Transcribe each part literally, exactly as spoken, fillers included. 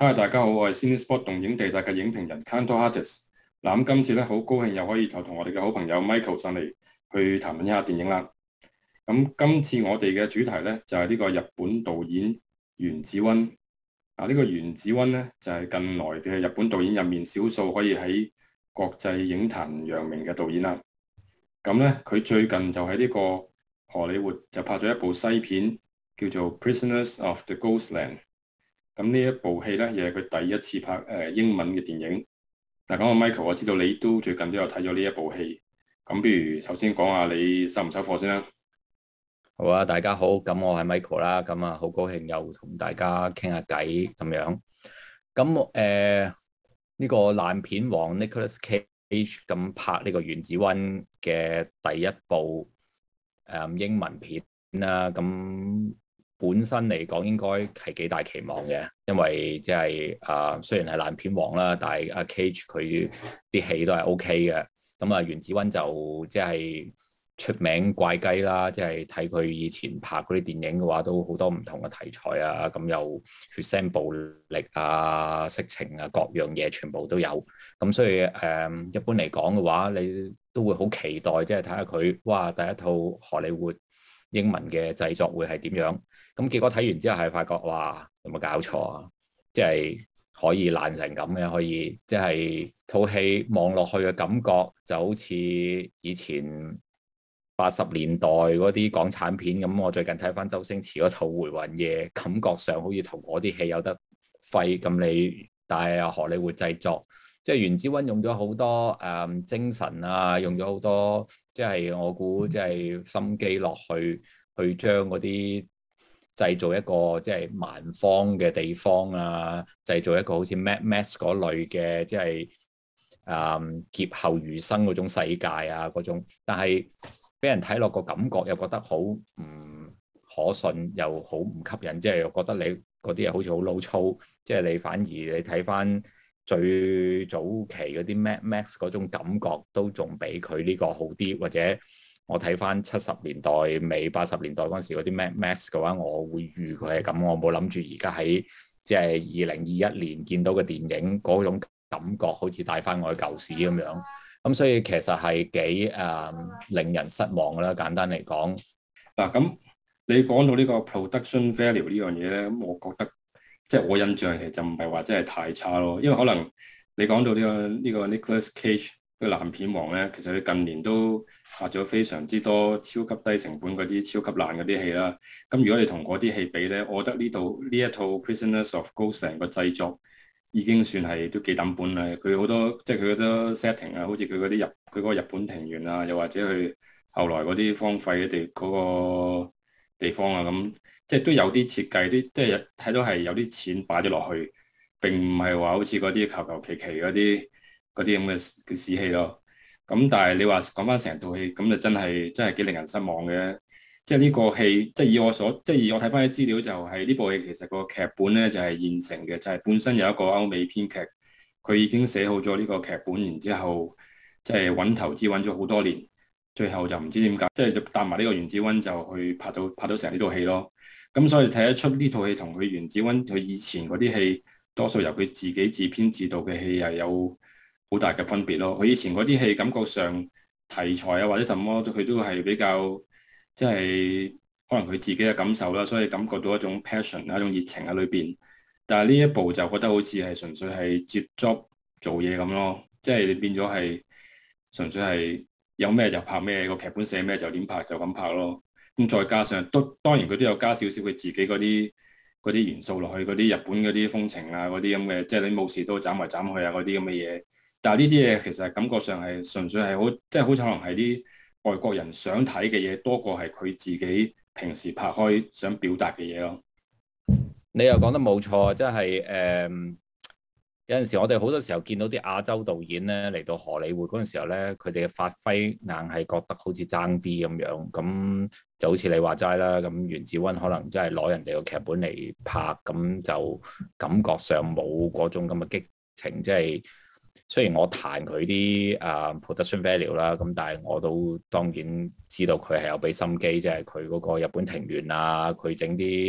嗨，大家好，我係 Cinespot 動映地帶嘅影評人 Kanto Artist。嗱，咁今次咧好高興又可以同同我哋嘅好朋友 Michael 上嚟去談論一下電影啦。咁今次我哋嘅主題咧就係、是、呢個日本導演原子溫。啊，呢、這個原子溫咧就係、是、近來嘅日本導演入面少數可以喺國際影壇揚名嘅導演啦。咁咧佢最近就喺呢個荷里活就拍咗一部西片，叫做 Prisoners of the Ghostland。咁呢一部戲咧，亦係佢第一次拍誒、呃、英文嘅電影。嗱，咁阿 Michael，我知道你都最近都有睇咗呢一部戲。咁，不如首先講下你收唔收貨先啦。 好啊，大家好，咁我係 Michael 啦，咁啊好高興又同大家傾下偈咁樣。咁誒呢個爛片王 Nicolas Cage 咁拍呢個原子溫嘅第一部誒、呃、英文片啦，咁。本身嚟講應該係幾大期望嘅，因為即係啊雖然係爛片王啦，但係阿 Cage 佢啲戲都係 O K 嘅。咁啊原子溫就即係出名怪雞啦，即係睇佢以前拍嗰啲電影嘅話，都好多唔同嘅題材啊，咁有血腥暴力啊、色情啊各樣嘢全部都有。咁所以誒、嗯、一般嚟講嘅話，你都會好期待，即係睇下佢哇第一套荷里活英文嘅製作會係點樣。咁結果睇完之後係發覺，哇，有冇搞錯啊？即係可以爛成咁嘅，可以即係套戲望落去嘅感覺就好似以前八十年代嗰啲港產片咁。我最近睇翻周星馳嗰套《回魂夜》，感覺上好似同嗰啲戲有得揮咁。你但係荷里活製作，即係原子溫用咗好多誒、嗯、精神啊，用咗好多即係我估即係心機落去，去將嗰啲。製造一個即係蠻荒嘅地方啊，製造一個好似 Mad Max 嗰類嘅即係誒劫後餘生嗰種世界啊嗰種，但係俾人睇落個感覺又覺得好唔可信，又好唔吸引，即係又覺得你嗰啲嘢好似好老粗，即係你反而你睇翻最早期嗰啲 Mad Max 嗰種感覺都仲比佢呢個好啲，或者。我睇翻七十年代尾八十年代嗰陣時嗰啲 Mad Max 嘅話，我會預佢係咁，我冇諗住而家喺即係二零二一年見到嘅電影嗰種感覺，好似帶翻我去舊時咁樣。咁所以其實係幾誒、呃、令人失望啦。簡單嚟講， 嗱咁你講到呢個 production value 呢樣嘢咧，咁我覺得即係我印象其實就唔係話真係太差咯。因為可能你講到呢、呢個呢、呢個 Nicolas Cage 個爛片王咧，其實佢近年都拍咗非常之多超級低成本嗰啲超級爛嗰啲戲啦。咁如果你同嗰啲戲比咧，我覺得呢度呢一套 Prisoners of Ghostland 個製作已經算係都幾抌本啦。佢好多即係佢好多 setting 啊，好似佢嗰啲日佢嗰個日本庭園啊，又或者佢後來嗰啲荒廢嘅地嗰個地方啊，咁即係都有啲設計，啲即係睇到係有啲錢擺咗落去，並唔係話好似嗰啲求求其其嗰啲嗰啲咁嘅嘅屎戲咯。咁但係你話講翻成套戲，咁就真係真係幾令人失望嘅。即係呢個戲，即係以我所，即係以我睇翻啲資料，就係呢部戲其實個劇本咧就係現成嘅，就係本身有一個歐美編劇，佢已經寫好咗呢個劇本，然之後即係揾投資揾咗好多年，最後就唔知點解，即係就搭埋呢個原子溫就去拍到拍到成呢套戲咯。咁所以睇得出呢套戲同佢原子溫佢以前嗰啲戲，多數由佢自己自編自導嘅戲係有好大嘅分別咯。佢以前嗰啲戲感覺上題材啊或者什麼，佢都係比較即係可能佢自己嘅感受啦，所以感覺到一種 passion 啊，一種熱情喺裏邊。但係呢一部就覺得好似係純粹係接 job 做嘢咁咯，即係變咗係純粹係有咩就拍咩，個劇本寫咩就點拍就咁拍咯。咁再加上都當然佢都有加少少佢自己嗰啲嗰啲元素落去，嗰啲日本嗰啲風情啊，嗰啲咁嘅，即係你冇事都斬嚟斬去啊嗰啲咁嘅嘢。但係呢啲嘢其實感覺上係純粹係好，即係好似可能係啲外國人想睇嘅嘢多過係佢自己平時拍開想表達嘅嘢咯。 你又講得冇錯，即係誒有陣時我哋好多時候見到啲亞洲導演咧嚟到荷里活嗰陣時候咧，佢哋嘅發揮硬係覺得好似爭啲咁樣，咁就好似你話齋啦，咁原子溫可能真係攞人哋個劇本嚟拍，咁就感覺上冇嗰種咁嘅激情，即係。雖然我彈佢啲啊 production value 啦，咁但係我都當然知道佢係有俾心機，即係佢嗰個日本庭園啊，佢整啲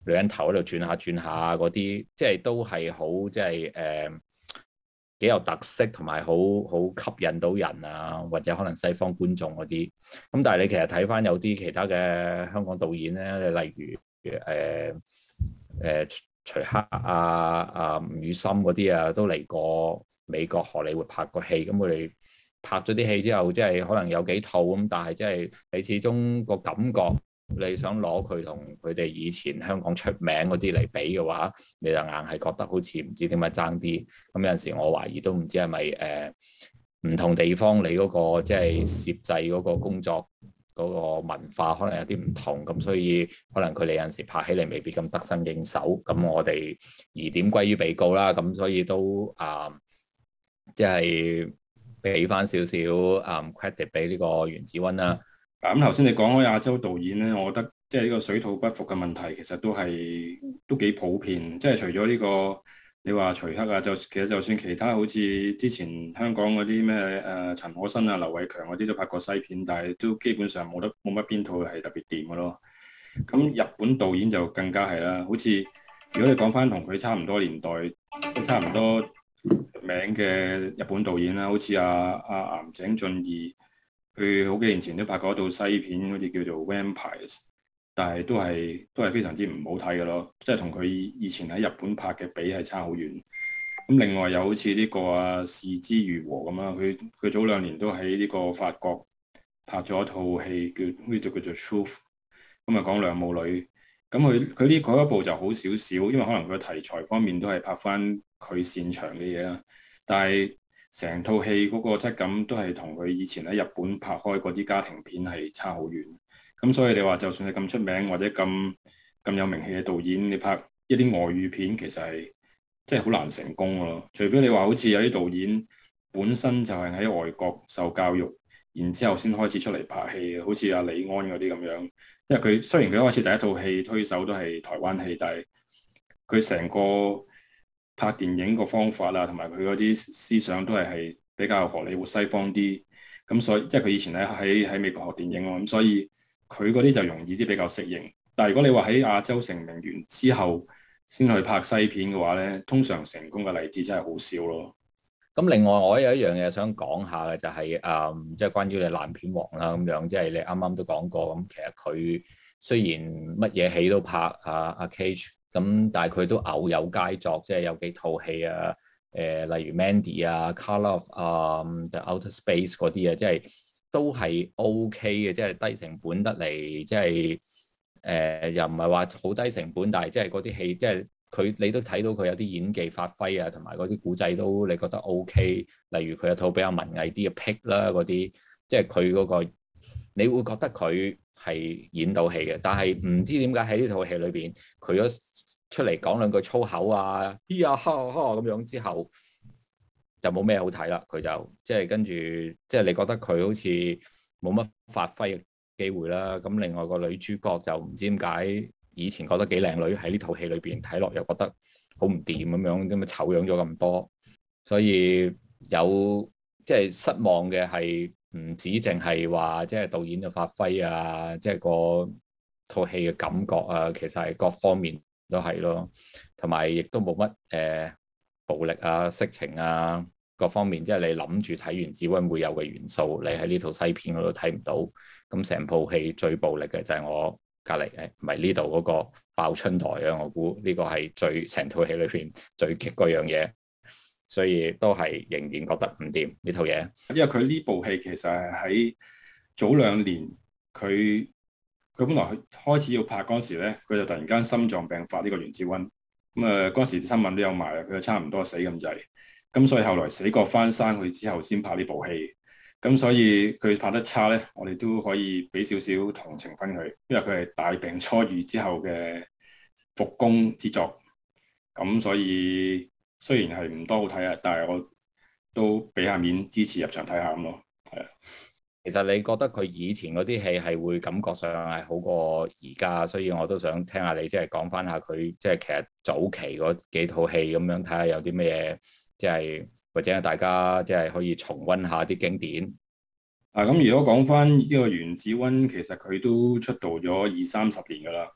女人頭喺度轉下轉下嗰啲，即係都係好即係誒幾有特色，同埋好好吸引到人啊，或者可能西方觀眾嗰啲。咁但係你其實睇翻有啲其他嘅香港導演咧，你例如誒誒、呃呃、徐克啊、啊吳宇森嗰啲啊，都嚟過美國荷里活拍過戲，咁佢哋拍咗啲戲之後，即係可能有幾套咁，但係即係你始終個感覺，你想攞佢同佢哋以前香港出名嗰啲嚟比嘅話，你就硬係覺得好似唔知點解爭啲。咁有陣時我懷疑都唔知係咪誒唔同地方你嗰個即係攝製嗰個工作嗰個文化可能有啲唔同，咁所以可能佢哋有陣時拍起嚟未必咁得心應手。咁我哋疑點歸於被告啦，咁所以都啊即係俾翻少少啊 credit 俾呢個袁子溫啦。 咁頭先你講開亞洲導演咧，我覺得即係呢個水土不服嘅問題，其實都係都幾普遍。即係除咗呢個你話徐克啊，就其實就算其他好似之前香港嗰啲咩誒陳可辛啊、劉偉強嗰啲都拍過西片，但係都基本上冇得冇乜邊套係特別掂嘅咯。咁日本導演就更加係啦，好似如果你講翻同佢差唔多年代、都差唔多名嘅日本導演啦，好似阿阿岩井俊二。佢好幾年前都拍過一套西片，好似叫做《Vampires》，但係都係都係非常之唔好睇嘅咯，即係同佢以前喺日本拍嘅比係差好遠。咁另外又好似呢個啊是枝裕和咁啦，佢佢早兩年都喺呢個法國拍咗一套戲叫呢就叫做《Truth》，咁啊講兩母女。咁佢佢呢嗰一部就好少少，因為可能佢題材方面都係拍翻佢擅長嘅嘢啦，但係成套戲嗰個質感都係同佢以前喺日本拍開嗰啲家庭片係差好遠。咁所以你話就算係咁出名或者咁咁有名氣嘅導演，你拍一啲外語片其實係即係好難成功咯。除非你話好似有啲導演本身就係喺外國受教育，然之後先開始出嚟拍戲，好似阿李安嗰啲咁樣。因為佢雖然佢一開始第一套戲推手都係台灣戲，但係佢成個拍電影個方法啊，同埋佢嗰啲思想都係係比較荷里活西方啲，咁所以即係佢以前喺喺喺美國學電影咯，咁所以佢嗰啲就容易啲比較適應。但係如果你話喺亞洲成名完之後先去拍西片嘅話咧，通常成功嘅例子真係好少咯。 咁另外我有一樣嘢想講下嘅就係、是、誒，即、嗯、係、就是、關於你爛片王啦咁樣，即、就、係、是、你啱啱都講過咁，其實佢雖然乜嘢戲都拍啊阿 Cage。咁但係佢都偶有佳作，即係有幾套戲啊，誒、呃、例如 Mandy 啊、Colour of 啊、um, The Outer Space 嗰啲啊，即係都係 OK 嘅，即係低成本得嚟，即係誒、呃、又唔係話好低成本，但係即係嗰啲戲，即係佢你都睇到佢有啲演技發揮啊，同埋嗰啲古仔都你覺得 OK。例如佢有套比較文藝啲嘅 Pick 啦，嗰啲即係佢嗰個，你會覺得佢係演到戲嘅，但係唔知點解喺呢套戲裏邊，佢咗出嚟講兩句粗口啊，咿呀哈哈咁樣之後，就冇咩好睇啦。佢就即係跟住，即係你覺得佢好似冇乜發揮嘅機會啦。咁另外個女主角就唔知點解，以前覺得幾靚女，喺呢套戲裏邊睇落又覺得好唔掂咁樣，咁啊醜樣咗咁多，所以有即係失望嘅係。唔止淨係話即係導演嘅發揮啊，即係個套戲嘅感覺啊，其實係各方面都係咯，同埋亦都冇乜誒暴力啊、色情啊各方面，即係你諗住睇完《子溫》會有嘅元素，你喺呢套西片嗰度睇唔到。咁成部戲最暴力嘅就係我隔離誒，唔係呢度嗰個爆春台啊！我估呢個係最成套戲裏邊最激嗰樣嘢。所以都係仍然覺得唔掂呢套嘢， 因為佢呢部戲其實係喺早兩年，佢佢本來開始要拍嗰時咧，佢就突然間心臟病發呢個袁子溫，咁啊嗰時新聞都有埋，佢就差唔多死咁滯，咁所以後來死過翻生去之後先拍呢部戲，咁所以佢拍得差咧，我哋都可以俾少少同情分佢，因為佢係大病初愈之後嘅復工之作，咁所以。雖然係唔多好睇啊，但係我都俾下面支持入場睇下咁咯。係啊， 其實你覺得佢以前嗰啲戲係會感覺上係好過而家，所以我都想聽下你即係講翻下佢即係其實早期嗰幾套戲咁樣，睇下有啲咩即係或者大家即係可以重溫下啲經典。 啊，咁如果講翻呢個袁子溫，其實佢都出道咗二三十年噶啦。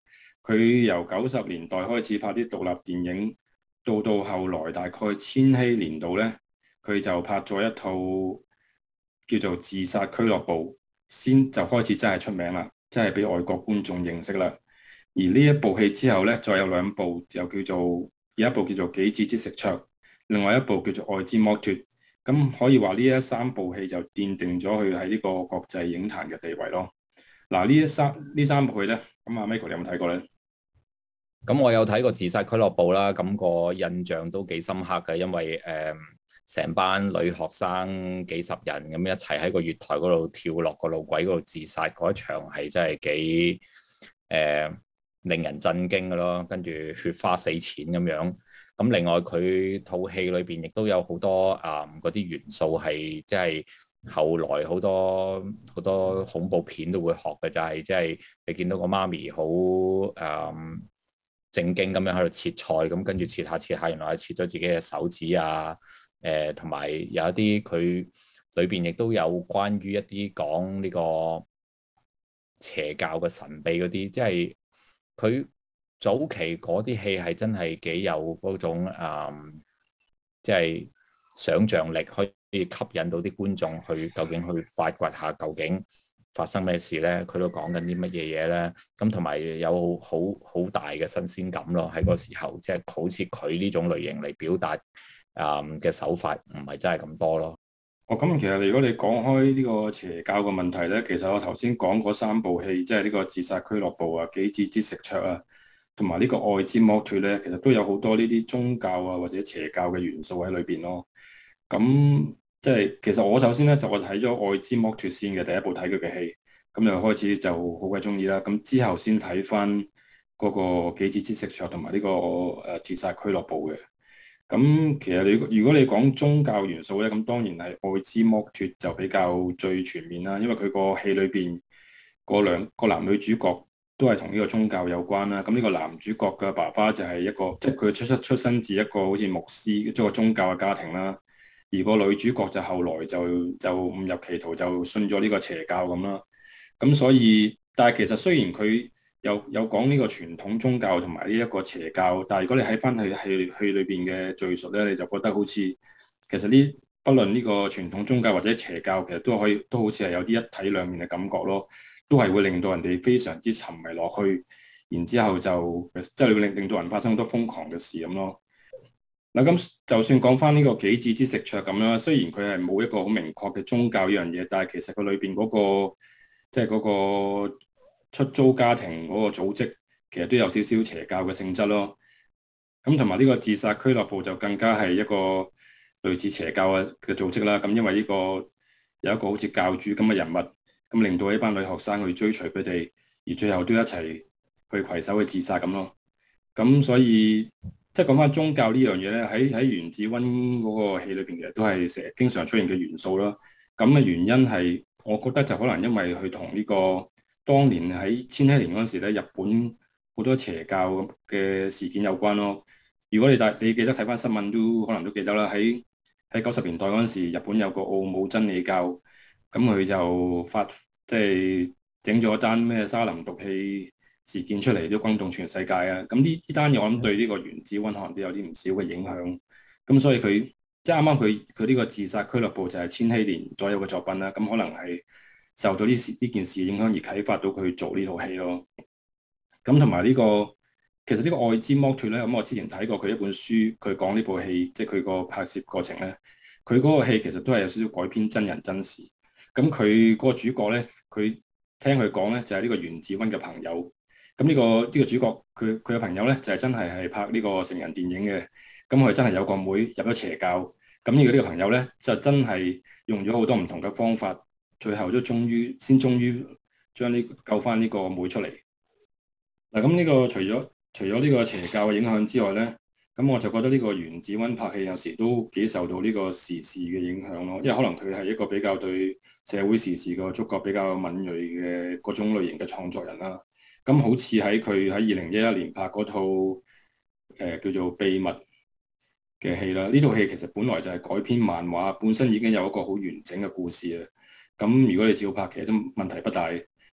佢由九十年代開始拍啲獨立電影，到到後來大概千禧年度咧，佢就拍咗一套叫做《自殺俱樂部》，先就開始真係出名啦，真係俾外國觀眾認識啦。而呢一部戲之後咧，再有兩部又叫做有一部叫做《杞子之食卓》，另外一部叫做《愛之剝脫》。咁可以話呢一三部戲就奠定咗佢喺呢個國際影壇嘅地位咯。嗱，呢一三呢三部戲咧，咁阿 Michael 你有冇睇過咧？ 咁我有睇過《自殺俱樂部》啦，咁個印象都幾深刻嘅，因為誒成、呃、班女學生幾十人咁一齊喺個月台嗰度跳落個路軌嗰度自殺嗰一場係真係幾誒、呃、令人震驚嘅咯，跟住血花四濺咁樣。咁另外佢套戲裏邊亦都有好多啊嗰啲元素係即係後來好多好多恐怖片都會學嘅，就係即係你見到個媽咪好誒。嗯正經咁樣喺度切菜，咁跟住切下切下，原來係切咗自己嘅手指啊！誒、呃，同埋有一啲佢裏邊亦都有關於一啲講呢個邪教嘅神秘嗰啲，即係佢早期嗰啲戲係真係幾有嗰種誒，即係想像力可以吸引到啲觀眾去究竟去發掘下究竟發生咩事咧？佢都講緊啲乜嘢嘢咧？咁同埋有好好大嘅新鮮感咯，喺嗰時候，即係好似佢呢種類型嚟表達啊嘅手法，唔係真係咁多咯。 哦，咁其實如果你講開呢個邪教嘅問題咧，其實我頭先講嗰三部戲，即係呢個《自殺俱樂部》啊，《杞子之食卓》啊，同埋呢個《愛之剝脫》咧，其實都有好多呢啲宗教啊或者邪教嘅元素喺裏邊咯。咁即係其實我首先咧就我睇咗《愛之剝脫》先嘅第一部睇佢嘅戲，咁就開始就好鬼中意啦。咁之後先睇翻嗰個《杞子之食卓》同埋呢個誒《自殺俱樂部》嘅。咁其實你如果你講宗教元素咧，咁當然係《愛之剝脫》就比較最全面啦，因為佢個戲裏邊個兩個男女主角都係同呢個宗教有關啦。咁呢個男主角嘅爸爸就係一個即係佢出出出身自一個好似牧師即係個宗教嘅家庭啦。而個女主角就後來就就誤入歧途，就信咗呢個邪教咁啦。咁所以，但係其實雖然佢有有講呢個傳統宗教同埋呢一個邪教，但係如果你喺翻去戲戲裏邊嘅敘述咧，你就覺得好似其實呢，不論呢個傳統宗教或者邪教，其實都可以都好似係有啲一體兩面嘅感覺咯，都係會令到人哋非常之沉迷落去，然之後就即係會令令到人發生好多瘋狂嘅事咁咯。嗱，咁就算講翻呢個杞子之食卓咁啦，雖然佢係冇一個好明確嘅宗教呢樣嘢，但係其實佢裏邊嗰個即係嗰個出租家庭嗰個組織，其實都有少少邪教嘅性質咯。咁同埋呢個自殺俱樂部就更加係一個類似邪教嘅嘅組織啦。咁因為呢個有一個好似教主咁嘅人物，咁令到呢班女學生去追隨佢哋，而最後都一齊去攜手去自殺咁咯。咁所以即係講翻宗教呢樣嘢咧，喺喺原子溫嗰個戲裏邊，其實都係成日經常出現嘅元素啦。咁嘅原因係，我覺得就可能因為佢同呢個當年喺千禧年嗰陣時咧，日本好多邪教嘅事件有關咯。如果你大你記得睇翻新聞，都可能都記得啦。喺喺九十年代嗰陣時，日本有個奧姆真理教，咁佢就發即係整咗單咩沙林毒氣事件出嚟，都轟動全世界啊！咁呢呢單嘢我諗對呢個原子溫可能都有啲唔少嘅影響。咁所以佢即係啱啱佢佢呢個自殺俱樂部就係千禧年左右嘅作品啦。咁可能係受到呢事呢件事影響而啟發到佢做呢套戲咯。咁同埋呢個其實呢個愛之剝脫咧，咁我之前睇過佢一本書，佢講呢部戲即係佢個拍攝過程咧，佢嗰個戲其實都係有少少改編真人真事。咁佢嗰個主角咧，佢聽佢講咧就係呢個原子溫嘅朋友。咁呢、這個呢、這個主角佢佢嘅朋友咧就係、是、真係係拍呢個成人電影嘅，咁佢真係有個妹入咗邪教，咁呢個呢個朋友咧就真係用咗好多唔同嘅方法，最後都終於先終於將呢救翻呢個妹出嚟。嗱，咁呢個除咗除咗呢個邪教嘅影響之外咧，咁我就覺得呢個原子溫拍戲有時都幾受到呢個時事嘅影響咯，因為可能佢係一個比較對社會時事個觸覺比較敏銳嘅嗰種類型嘅創作人啦。咁好似喺佢喺二零一一年拍嗰套誒、呃、叫做《秘密》嘅戲啦，呢套戲其實本來就係改編漫畫，本身已經有一個好完整嘅故事啊。咁如果你照拍，其實都問題不大。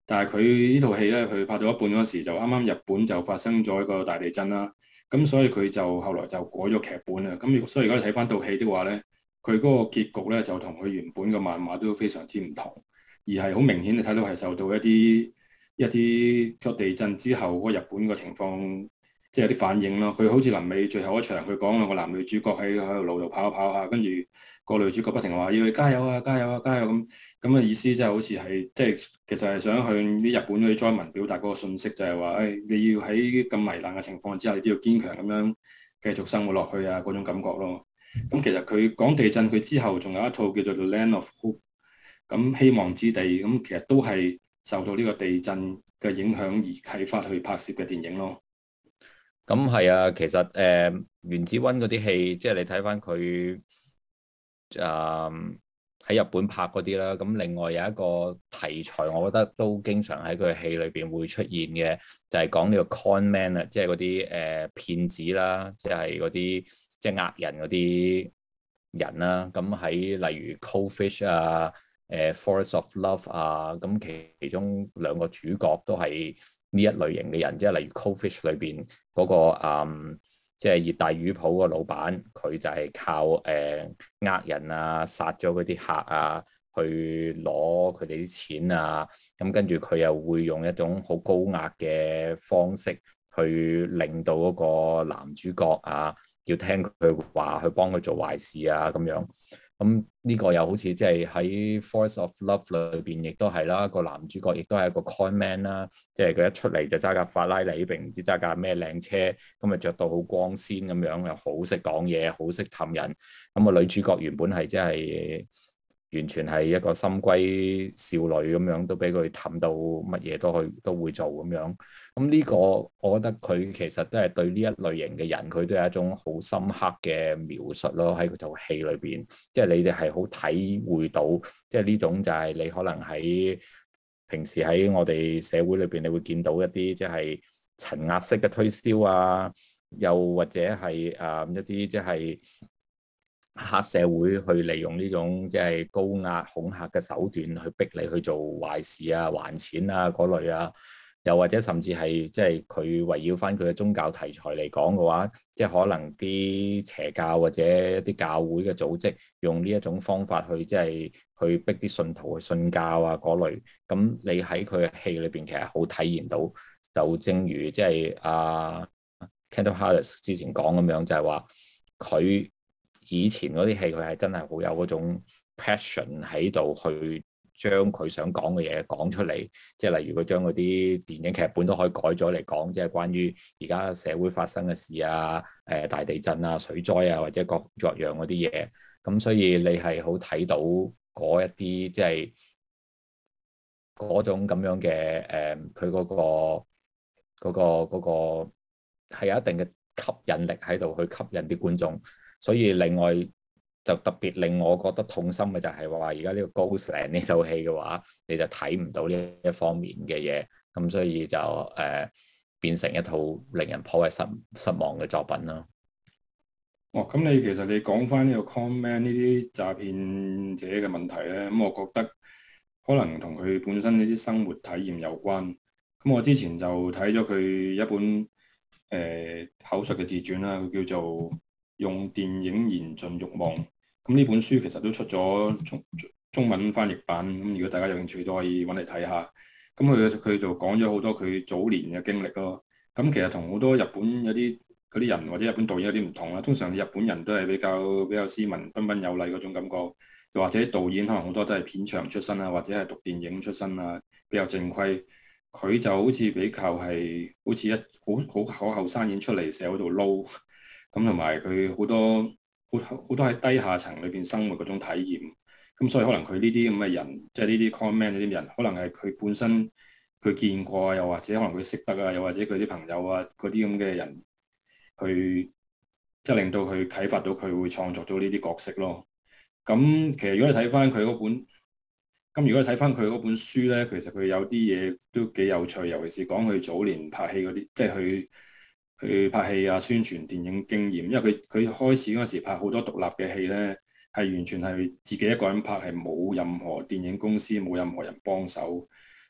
但係佢呢套戲咧，佢拍到一半嗰時就啱啱日本就發生咗一個大地震啦，咁所以佢就後來就改咗劇本啦。咁所以如果你睇翻套戲的話咧，佢嗰個結局咧就同佢原本嘅漫畫都非常之唔同，而係好明顯你睇到係受到一啲一啲個地震之後嗰日本嘅情況，即係有啲反應咯。佢好似臨尾最後一場，佢講兩個男女主角喺喺條路度跑下跑下，跟住個女主角不停話要你加油啊加油啊加油咁，咁嘅意思即係好似係即係其實係想向啲日本嗰啲災民表達嗰個信息，就係話誒你要喺咁危難嘅情況之下，你都要堅強咁樣繼續生活落去啊嗰種感覺咯。咁其實佢講地震，佢之後仲有一套叫做《The Land of Hope》，咁希望之地，咁其實都係受到呢個地震嘅影響而啟發去拍攝嘅電影咯。 咁係啊，其實誒、呃、原子溫嗰啲戲，即係你睇翻佢誒喺日本拍嗰啲啦。咁另外有一個題材，我覺得都經常喺佢戲裏邊會出現嘅，就係、是、講呢個 con man 啊，即係嗰啲誒騙子啦，即係嗰啲。即係呃人嗰啲人啦，咁喺例如 Cold Fish 啊、誒 Forest of Love 啊，咁其中兩個主角都係呢一類型嘅人，即係例如 Cold Fish 裏邊嗰個誒，即係熱帶魚鋪個老闆，佢就係靠誒呃人啊、殺咗嗰啲客啊，去攞佢哋啲錢啊，咁跟住佢又會用一種好高壓嘅方式去令到嗰個男主角啊，要聽佢話去幫佢做壞事啊咁樣，咁呢個又好似即係喺《Force of Love》裏邊，亦都係啦。個男主角亦都係一個 con man 啦，即係佢一出嚟就揸架法拉利，並唔知揸架咩靚車，咁啊着到好光鮮咁樣，又好識講嘢，好識氹人。咁個女主角原本係即係完全係一個心歸少女咁樣，都俾佢氹到乜嘢都去都會做咁樣。咁呢個我覺得佢其實都係對呢一類型嘅人，佢都有一種好深刻嘅描述咯。喺佢套戲裏邊，即係你哋係好體會到，即係呢種就係你可能喺平時喺我哋社會裏邊，你會見到一啲即係層壓式嘅推銷啊，又或者係誒一啲即係黑社會去利用呢種即係高壓恐嚇嘅手段去逼你去做壞事啊、還錢啊嗰類啊，又或者甚至係即係佢圍繞翻佢嘅宗教題材嚟講嘅話，即係可能啲邪教或者一啲教會嘅組織用呢一種方法去即係去逼啲信徒去信教啊嗰類，咁你喺佢嘅戲裏邊其實好體現到，就正如即係阿 Kendall Harris 之前講咁樣，就係話佢以前嗰啲戲，佢係真係好有嗰種 passion 喺度去將佢想講嘅嘢講出嚟，即係例如佢將嗰啲電影劇本都可以改咗嚟講，即係關於而家社會發生嘅事啊、誒大地震啊、水災啊或者各各樣嗰啲嘢。咁所以你係好睇到嗰一啲即係嗰種咁樣嘅誒，佢嗰個嗰個嗰個係有一定嘅吸引力喺度去吸引啲觀眾。所以另外就特別令我覺得痛心嘅就係話，而家呢個 Ghostland 呢套戲嘅話，你就睇唔到呢一方面嘅嘢，咁所以就誒、呃、變成一套令人頗為失失望嘅作品咯。 哦，咁你其實你講翻呢個 con man 呢啲詐騙者嘅問題咧，咁我覺得可能同佢本身呢啲生活體驗有關。咁我之前就睇咗佢一本誒、呃、口述嘅自傳啦，佢叫做用電影燃盡慾望，咁呢本書其實都出咗中中文翻譯版，咁如果大家有興趣都可以揾嚟睇下。咁佢佢就講咗好多佢早年嘅經歷咯。咁其實同好多日本有啲嗰啲人或者日本導演有啲唔同啦。通常日本人都係比較比較斯文、彬彬有禮嗰種感覺，又或者導演可能好多都係片場出身啊，或者係讀電影出身啊，比較正規。佢就好似比較係好似一好好好後生演出嚟社會度撈。咁同埋佢好多好好多喺低下層裏邊生活嗰種體驗，咁所以可能佢呢啲咁嘅人，即係呢啲 con man 呢啲人，可能係佢本身佢見過啊，又或者可能佢識得啊，又或者佢啲朋友啊嗰啲咁嘅人，去即係令到佢啟發到佢會創作到呢啲角色咯。咁其實如果你睇翻佢嗰本，咁如果你睇翻佢嗰本書咧，其實佢有啲嘢都幾有趣，尤其是講佢早年拍戲嗰啲，即係佢。佢拍戲啊、宣傳電影經驗，因為佢佢開始嗰時拍好多獨立嘅戲咧，係完全係自己一個人拍，係冇任何電影公司、冇任何人幫手，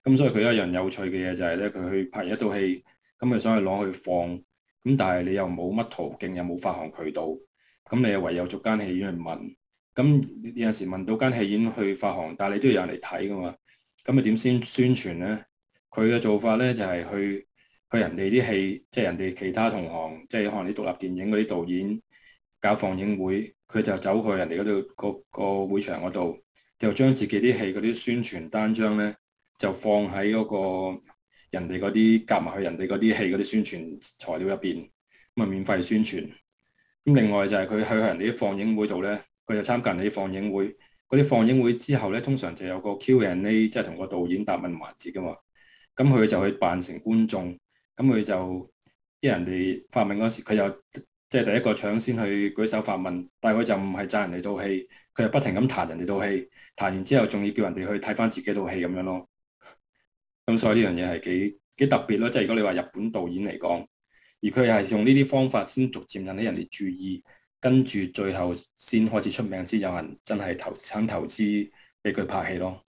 咁所以佢一樣有趣嘅嘢就係咧，佢去拍一套戲，咁佢想去攞去放，咁但係你又冇乜途徑，又冇發行渠道，咁你又唯有逐間戲院去問。咁有陣時問到間戲院去發行，但係你都要有人嚟睇噶嘛。咁你點先宣傳咧？佢嘅做法咧就係去去人哋啲戲，即係人哋其他同行，即係可能啲獨立電影嗰啲導演搞放映會，佢就走去人哋嗰度個個會場嗰度，就將自己啲戲嗰啲宣傳單張咧，就放喺嗰個人哋嗰啲夾埋去人哋嗰啲戲嗰啲宣傳材料入邊，咁啊免費宣傳。咁另外就係佢去人哋啲放映會度咧，佢就參加人哋啲放映會。嗰啲放映會之後咧，通常就有個 Q and A，即係同個導演答問環節噶嘛。咁佢就去扮成觀眾，咁佢就啲人哋發問嗰時，佢又即係第一個搶先去舉手發問，但係佢就唔係讚人哋套戲，佢係不停咁彈人哋套戲，彈完之後仲要叫人哋去睇翻自己套戲咁樣咯。咁所以呢樣嘢係幾幾特別咯，即係如果你話日本導演嚟講，而佢係用呢啲方法先逐漸引起人哋注意。跟住最後先開始出名，先有人真係投肯投資俾佢拍戲咯。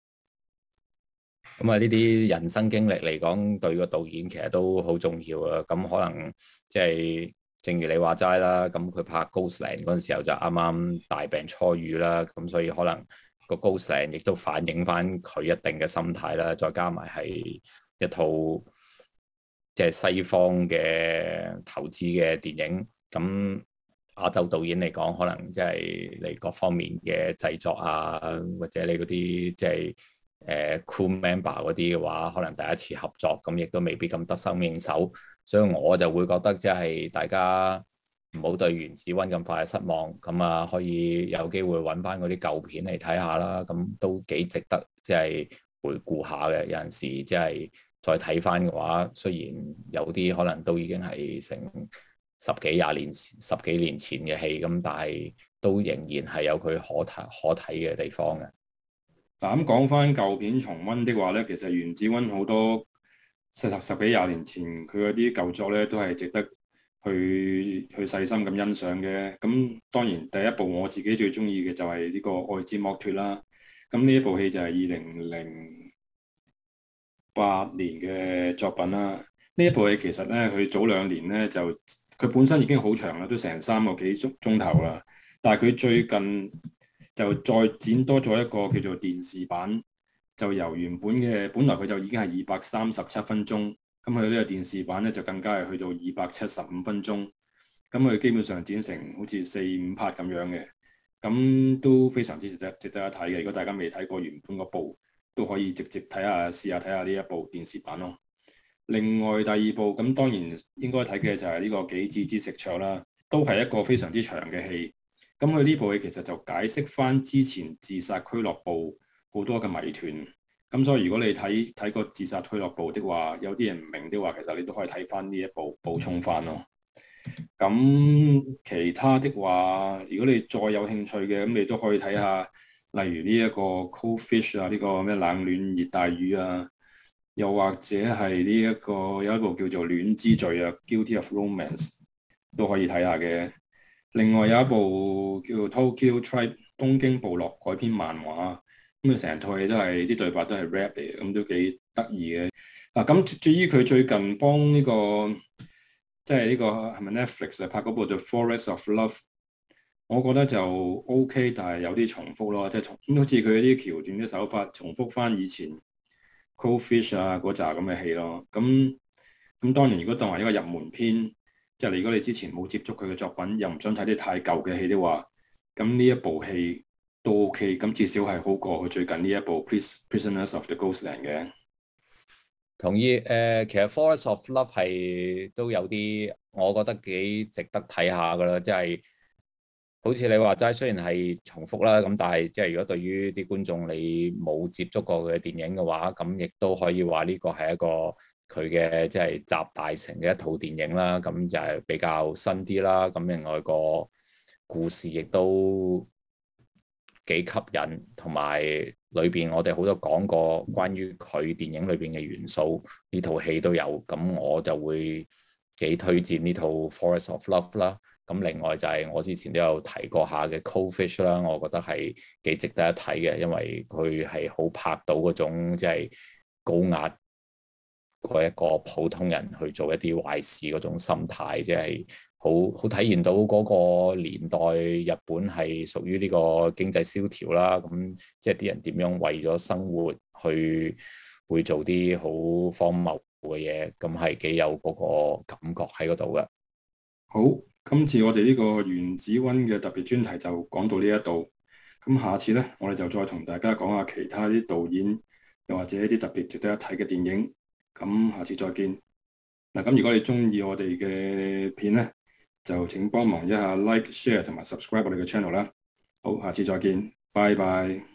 咁啊，呢啲人生經歷嚟講，對個導演其實都好重要啊。咁可能即係正如你話齋啦，咁佢拍《Ghostland》嗰陣時候就啱啱大病初愈啦，咁所以可能個《Ghostland》亦都反映翻佢一定嘅心態啦。再加埋係一套即係西方嘅投資嘅電影，咁亞洲導演嚟講，可能即係你各方面嘅製作啊，或者你嗰啲即係誒 crew member 嗰啲嘅話，可能第一次合作，咁亦都未必咁得心應手，所以我就會覺得即係大家唔好對原子溫咁快失望，咁啊可以有機會揾翻嗰啲舊片嚟睇下啦，咁都幾值得即係回顧下嘅。有陣時即係再睇翻嘅話，雖然有啲可能都已經係成十幾廿年前、十幾年前嘅戲咁，但係都仍然係有佢可睇可睇嘅地方嘅。 嗱，咁講翻舊片重溫的話咧，其實原子溫好多十十幾廿年前佢嗰啲舊作咧，都係值得去去細心咁欣賞嘅。咁當然第一部我自己最中意嘅就係呢個《愛之剝脫》啦。咁呢一部戲就係二零零八年嘅作品啦。呢一部戲其實咧，佢早兩年咧就佢本身已經好長啦，都成三個幾鐘鐘頭啦。但係佢最近就再剪多咗一個叫做電視版，就由原本嘅本來佢就已經係二百三十七分鐘，咁佢呢個電視版咧就更加係去到二百七十五分鐘。咁佢基本上剪成好似四五 part 咁樣嘅，咁都非常之值得值得一睇嘅。如果大家未睇過原本嗰部，都可以直接睇下試下睇下呢一部電視版咯。另外第二部咁當然應該睇嘅就係呢個《紀治之食卓》啦，都係一個非常之長嘅戲。咁佢呢部戲其實就解釋翻之前自殺俱樂部好多嘅謎團。咁所以如果你睇睇過自殺俱樂部的話，有啲人唔明的話，其實你都可以睇翻呢一部補充翻咯。咁其他的話，如果你再有興趣嘅，咁你都可以睇下，例如呢一個 Cold Fish 啊，呢個咩冷暖熱帶魚啊。又或者係呢一個有一部叫做《戀之罪》啊，《Guilty of Romance》都可以睇下嘅。另外有一部叫做《Tokyo Tribe》東京部落改編漫畫，咁啊成套戲都係啲對白都係 rap 嚟嘅，咁都幾得意嘅。嗱，咁至於佢最近幫呢個即係呢個係咪 Netflix 啊拍嗰部《The Forest of Love》，我覺得就 OK，但係有啲重複咯，即係重好似佢啲橋段啲手法重複翻以前 Cold Fish 啊嗰扎咁嘅戲咯。咁咁當然如果當為一個入門片，即係如果你之前冇接觸佢嘅作品，又唔想睇啲太舊嘅戲的話，咁呢一部戲都 OK，咁至少係好過佢最近呢一部《Prisoners of the Ghostland》嘅。 同意誒、呃，其實《Forest of Love》係都有啲，我覺得幾值得睇下噶啦，即係好似你話齋，雖然係重複啦，咁但係即係如果對於啲觀眾你冇接觸過佢嘅電影嘅話，咁亦都可以話呢個係一個佢嘅即係集大成嘅一套電影啦，咁就係比較新啲啦，咁另外個故事亦都幾吸引，同埋裏邊我哋好多講過關於佢電影裏邊嘅元素，呢套戲都有，咁我就會幾推薦呢套《Forest of Love》啦。咁另外就係我之前都有提過下嘅《Cold Fish》啦，我覺得係幾值得一睇嘅，因為佢係好拍到嗰種即係高壓嗰一個普通人去做一啲壞事嗰種心態，即係好好體現到嗰個年代日本係屬於呢個經濟蕭條啦。咁即係啲人點樣為咗生活去會做啲好荒謬嘅嘢，咁係幾有嗰個感覺喺嗰度嘅。 好，今次我哋呢個原子溫嘅特別專題就講到呢一度。咁下次呢，我哋就再同大家講下其他啲導演，又或者一啲特別值得一睇嘅電影。咁下次再見。嗱，咁如果你中意我哋嘅片呢，就請幫忙一下 like、share 同埋 subscribe 我哋嘅 channel 啦。好，下次再見，拜拜。